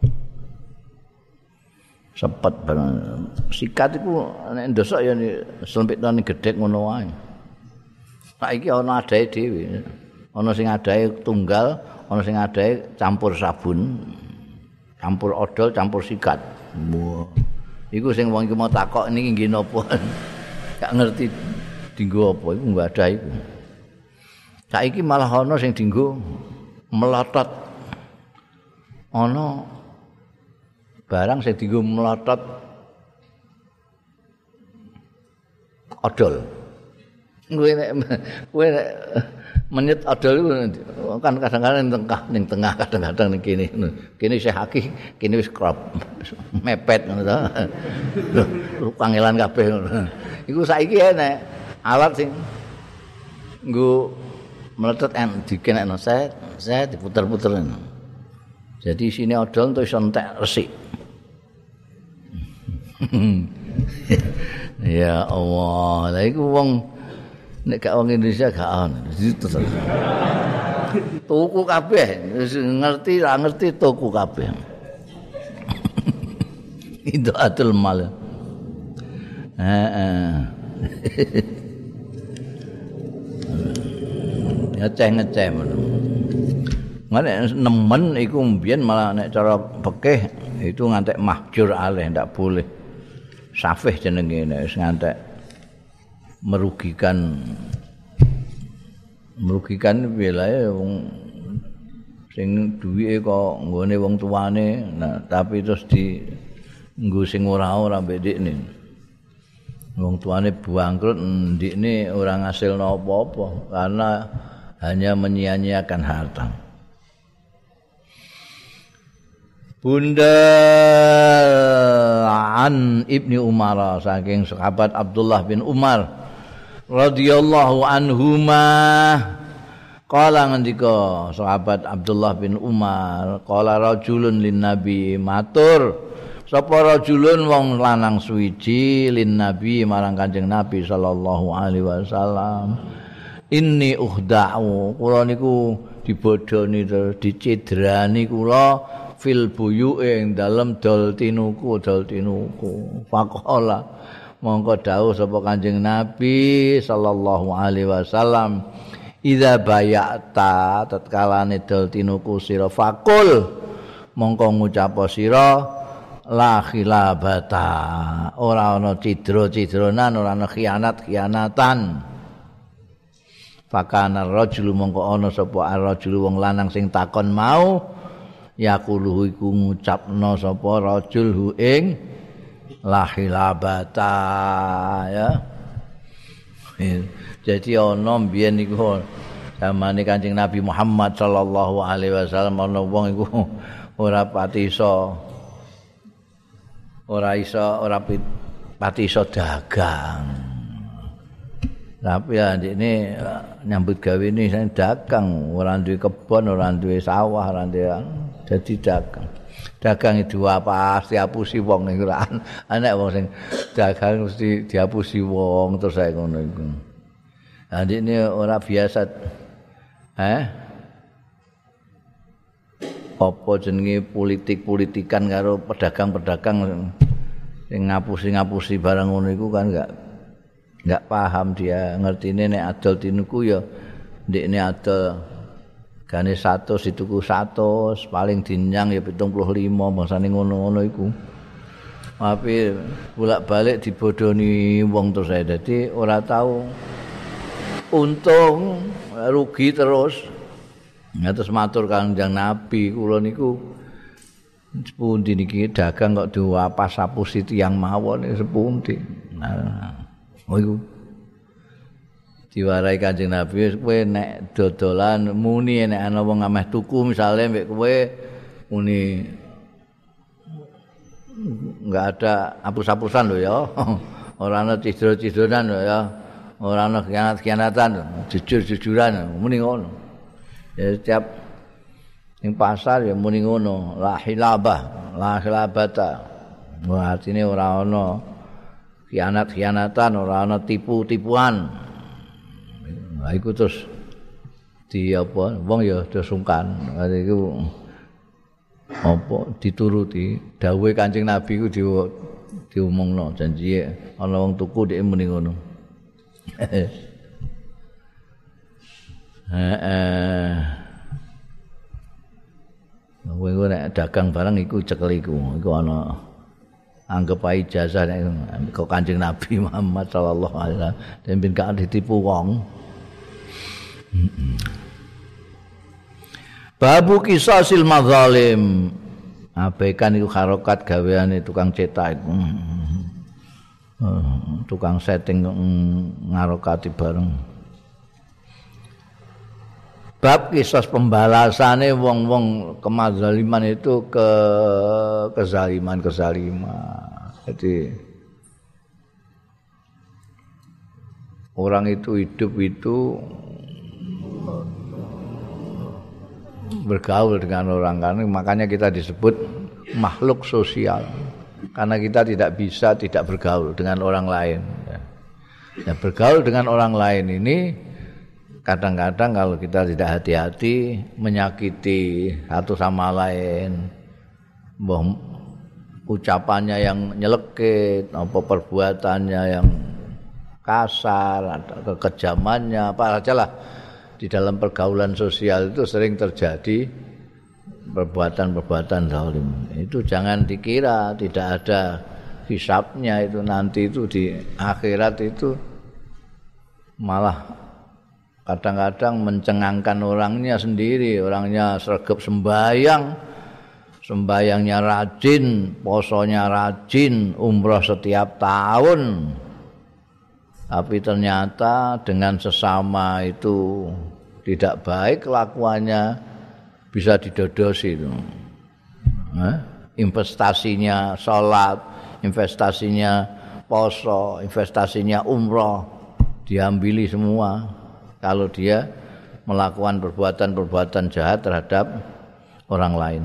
Sepet bareng. Sikat iku nek ndosok ya selempitane gedhek ngono wae. Saiki ana adahe dhewe. Ana sing adahe tunggal, ana sing adahe campur sabun, campur odol, campur sikat. Wah. Iku sing wong iki mau takok niki nggih napa. Gak ngerti dienggo apa iku enggak ada iku. Saiki malah ana sing dienggo melotot. Ana barang sing dienggo melotot odol. Kowe nek menyet odol iku kan kadang-kadang ning tengah kadang-kadang ning kene. Kene isih akeh, kene wis krop. Mepet ngono to. Lho kangelan kabeh ngono. Iku saiki enek alat sing nggo meletet dikenekno set diputer-puter. Jadi sini odol entuk iso entek resik. Ya Allah, lha iku wong nek gak wong Indonesia gak ono. Tuku kabeh, ngerti ra ngerti tuku kabeh. Itu atul mal. Ngeceh ngono. Nek nemen iku mbiyen malah nek cara fikih itu ngantek mahjur alih ndak boleh. Safih jenenge nek wis ngantek merugikan wilayahe wong sing duwike kok nggone wong tuane nah tapi terus di nggo sing ora mbek ndikne wong tuane bangkrut ndikne ora ngasilno apa-apa karena hanya menyia-nyiakan harta Bunda an Ibni Umar saking sahabat Abdullah bin Umar radhiyallahu anhuma qala ngendika sahabat Abdullah bin Umar qala rajulun lin nabi matur sapa rajulun wong lanang suwiji lin nabi marang Kanjeng Nabi sallallahu alaihi wasallam inni uhda'u kula niku dibodoni terus dicidrani kula fil buyu'e ing dalem dol tinuku faqala mongko dawuh sapa Kanjeng Nabi sallallahu alaihi wasallam idza bayata tatkalane dol tinuku sira faqul mongko ngucap sira la khilabata ora ana cidra-cidranan ora ana khianat-khianatan fakana rajulu mongko ana sapa ar-rajulu wong lanang sing takon mau yaqulu iku ngucapno sapa rajul hu ing la khilabata ya jadi ana mbiyen niku zamane Kanjeng Nabi Muhammad sallallahu alaihi wasallam ana wong iku ora pati iso dagang. Tapi ya ini nyambut gawe ini saya dagang, ora duwe kebon, ora duwe sawah, ora duwe jadi dagang. Dagang itu apa? Diapusi wong niku ora ana wong sing dagang mesti diapusi wong terus saya ngono iku. Lah ini ora biasa apa jenenge politik-politikan karo pedagang-pedagang sing ngapusi-ngapusi barang ngono iku kan enggak paham dia ngertine nek adol tinuku ya ndekne adol gane 100 dituku 100 paling dinyang ya 75 bangsane ngono-ngono iku. Tapi bolak-balik dibodoni wong terus saya dadi ora tahu untung rugi terus. Ya terus matur Kanjeng Nabi kula niku sepundi niki dagang kok diwapas sapusi tiyang mawon sepundi. Nah, iku diwarai Kanjeng Nabi kowe nek dodolan muni nek ana wong ameh tuku misale mbek kowe muni enggak ada hapus-hapusan lho ya. Ora ana cidro-cidronan lho ya. Ora ana khianat-khianatan, jujur-jujuran muni ngono. Ya setiap ning pasar ya muni ngono, la khilabata. Wah, artine ora ana khianat-khianatan, ora ana tipu-tipuan. Lah iku terus di apa wong ya do sungkan. Iku apa dituruti dawuhe Kanjeng Nabi ku diomongno janji ana wong tuku dhek muni ngono. Kowe nek dagang barang iku cekel iku ana anggap ae ijazah nek kok Kanjeng Nabi Muhammad sallallahu alaihi wasallam ben gak ditipu wong. Babu qisasil mazalim. Abaikan iku harokat gaweane tukang cetak iku. Tukang setting ngarokati bareng. Bab kisah pembalasane wong-wong kemazaliman itu ke kezaliman. Jadi orang itu hidup itu bergaul dengan orang kan, makanya kita disebut makhluk sosial. Karena kita tidak bisa tidak bergaul dengan orang lain. Ya, bergaul dengan orang lain ini kadang-kadang kalau kita tidak hati-hati menyakiti satu sama lain, ucapannya yang nyelekit, apa perbuatannya yang kasar, atau kekejamannya, apa saja lah di dalam pergaulan sosial itu sering terjadi perbuatan-perbuatan zalim. Itu jangan dikira tidak ada hisabnya itu nanti itu di akhirat itu malah kadang-kadang mencengangkan orangnya sendiri, orangnya sregep sembayangnya rajin, posonya rajin, umroh setiap tahun. Tapi ternyata dengan sesama itu tidak baik kelakuannya, bisa didodosi itu. investasinya salat, investasinya poso, investasinya umroh diambili semua kalau dia melakukan perbuatan-perbuatan jahat terhadap orang lain.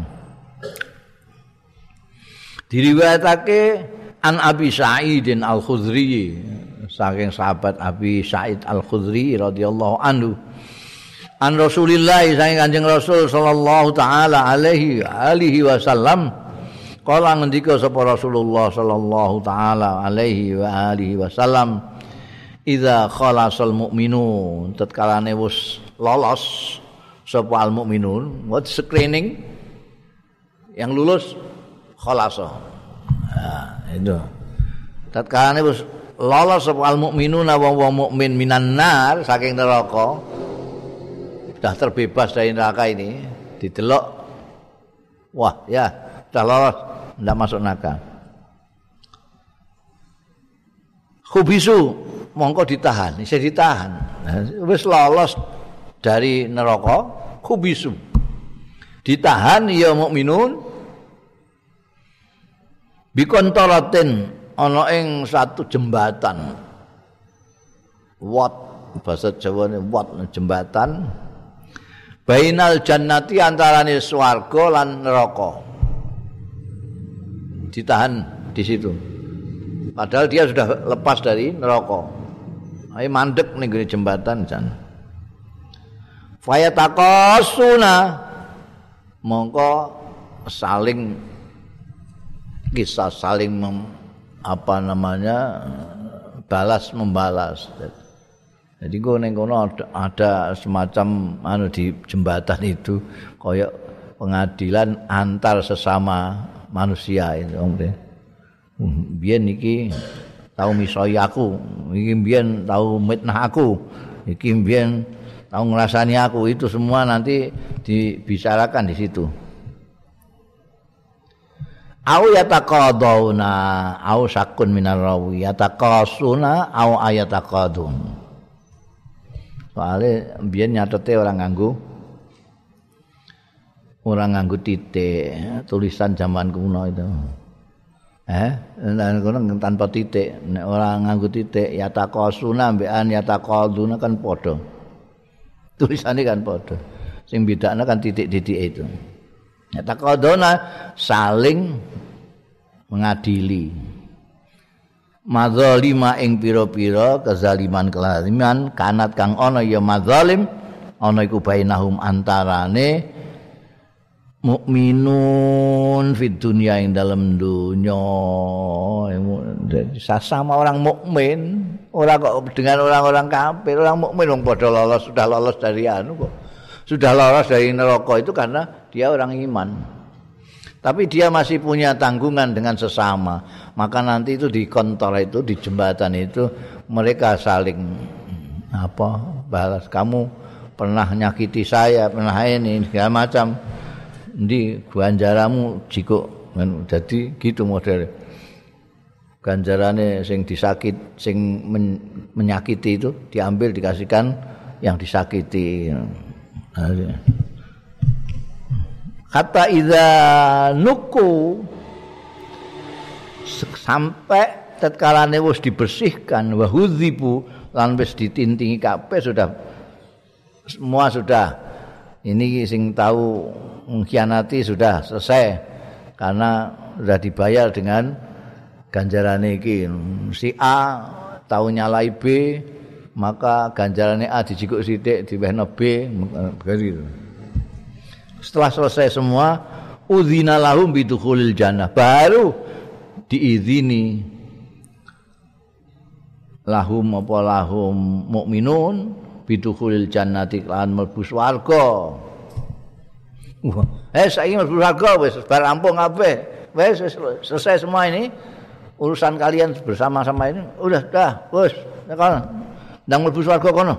Diriwayatake an Abi Sa'id Al-Khudri, saking sahabat Abi Sa'id Al-Khudri radhiyallahu anhu, an Rasulillah, saking Kanjeng Rasul sallallahu taala alaihi wasallam, kala ngendika sapa Rasulullah sallallahu taala alaihi wa alihi wasallam, idza khalasal mu'minun, tatkalane wis lolos sapa al mukminun, what screening yang lulus khalasa. Nah, itu. Tatkalane wis lolos sapa al mukminun wong mukmin minan nar saking neraka, sudah terbebas dari neraka ini, didelok wah ya sudah lolos, tidak masuk neraka. Khubisu mongko ditahan, bisa ditahan. Nah, wis lolos dari neraka, khubisu. Ditahan ya mukminun bikontaratin ana ing satu jembatan. Wat bahasa Jawane wat jembatan. Bainal jannati antarane swarga lan neraka. Ditahan di situ. Padahal dia sudah lepas dari neraka. Ayo mandek ning jembatan jan. Fayataqasuna mongko saling kisah saling balas membalas. Jadi ning kono ada semacam di jembatan itu kayak pengadilan antar sesama manusia itu. Biyen iki tau misoi aku, iki biyen tau mitnah aku, iki biyen tau ngrasani aku, itu semua nanti dibicarakan di situ. Au yataqaduna au sakun minar rawi yataqasuna au ayataqadun. Soale biyen nyatete orang nganggo titik, tulisan zaman kuno itu. Tanpa titik, nek orang nganggo titik yataqasuna mbekan yataqaduna kan padha. Tulisannya kan padha. Sing bedakna kan titik-titik itu. Yataqaduna saling mengadili. Madzalima ing pira-pira kezaliman kanat kang ana ya madzalim ana iku bainahum antarane mukminun fid dunya ing dalam dunya, sama orang mukmin, ora kok dengan orang-orang kafir. Orang mukmin wong padha lolos, sudah lolos dari kok. Sudah lolos dari neraka itu karena dia orang iman. Tapi dia masih punya tanggungan dengan sesama. Maka nanti itu di kantor itu, di jembatan itu mereka saling balas. Kamu pernah nyakiti saya, pernah ini segala macam. Di ganjaramu jiko, jadi gitu model. Ganjarane sing menyakiti itu diambil dikasihkan yang disakiti. Kata idza nuku, sampai tatkalane wis dibersihkan, wa hudzibu lan wis ditintingi kabeh, semua sudah. Ini sing tahu mengkhianati sudah selesai karena sudah dibayar dengan ganjarane iki. Si A tahu nyalai B, maka ganjarane A dijikuk sithik diwehno B begitu. Setelah selesai semua, udzina lahum bidukhulil jannah, baru diizini lahum mukminun bidukhulil jannati lan mlebu swarga. Saiki mlebu swarga wis bar rampung kabeh. Wis selesai semua ini. Urusan kalian bersama-sama ini udah wis tekan ndang mlebu swarga kono.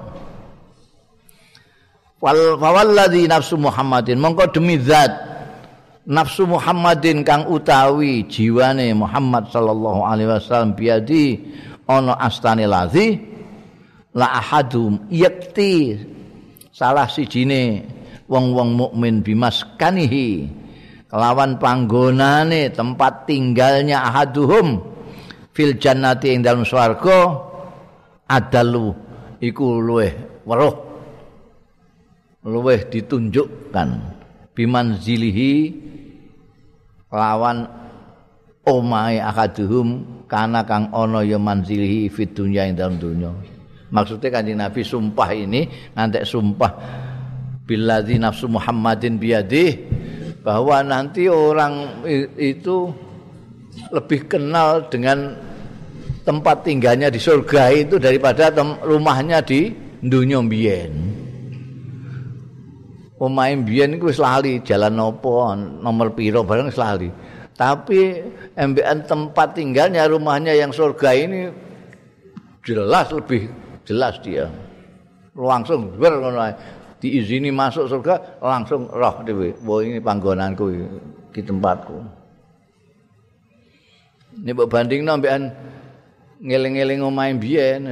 Walladzi nafsu Muhammadin, mongko demi zat nafsu Muhammadin kang utawi jiwane Muhammad sallallahu alaihi wasallam biadi ana astane ladzi la ahadum yakti salah sijine wong-wong mukmin bimaskanihi kelawan panggonane tempat tinggalnya ahaduhum fil jannati ing dalem swarga adalu iku luweh weruh luweh ditunjukkan bimanzilihi lawan omahe ahaduhum kana kang ana ya manzilihi fid dunya ing dalem dunya. Maksudnya Kanjeng Nabi sumpah ini ngantek sumpah billadzi nafsu Muhammadin biyadih bahwa nanti orang itu lebih kenal dengan tempat tinggalnya di surga itu daripada rumahnya di dunya mbiyen. Omahe mbiyen iku wis lali jalan nopo, nomor piro bareng wis lali. Tapi embekan tempat tinggalnya rumahnya yang surga ini jelas lebih jelas dia. Langsung diizini masuk surga langsung roh dhewe. Wah ini panggonanku iki tempatku. Nek mbok bandingno mbekan ngeling-eling omahe mbiyen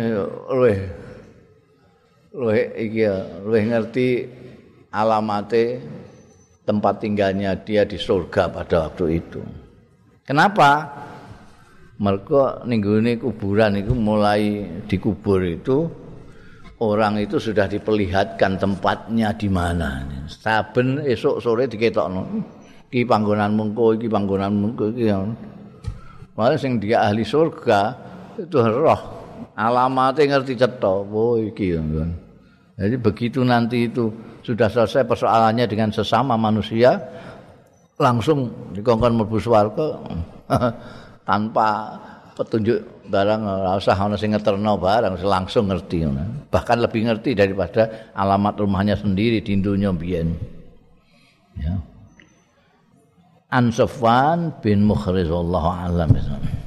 luwih iki luwih ngerti alamate tempat tinggalnya dia di surga pada waktu itu. Kenapa? Mereka ninggune kuburan itu mulai dikubur itu orang itu sudah diperlihatkan tempatnya di mana. Saben esok sore diketokno. Iki panggonan mengko, iki panggonan mengko iki. Malah sing dia ahli surga itu roh alamatnya ngerti cetha. Oh iki. Jadi begitu nanti itu sudah selesai persoalannya dengan sesama manusia, langsung dikongkon mlebu swarga tanpa petunjuk barang, ora usah ana sing ngeterno barang, langsung ngerti. Bahkan lebih ngerti daripada alamat rumahnya sendiri di dunya mbiyen. Ya. An Safwan bin Mukhriz wallahu a'lam.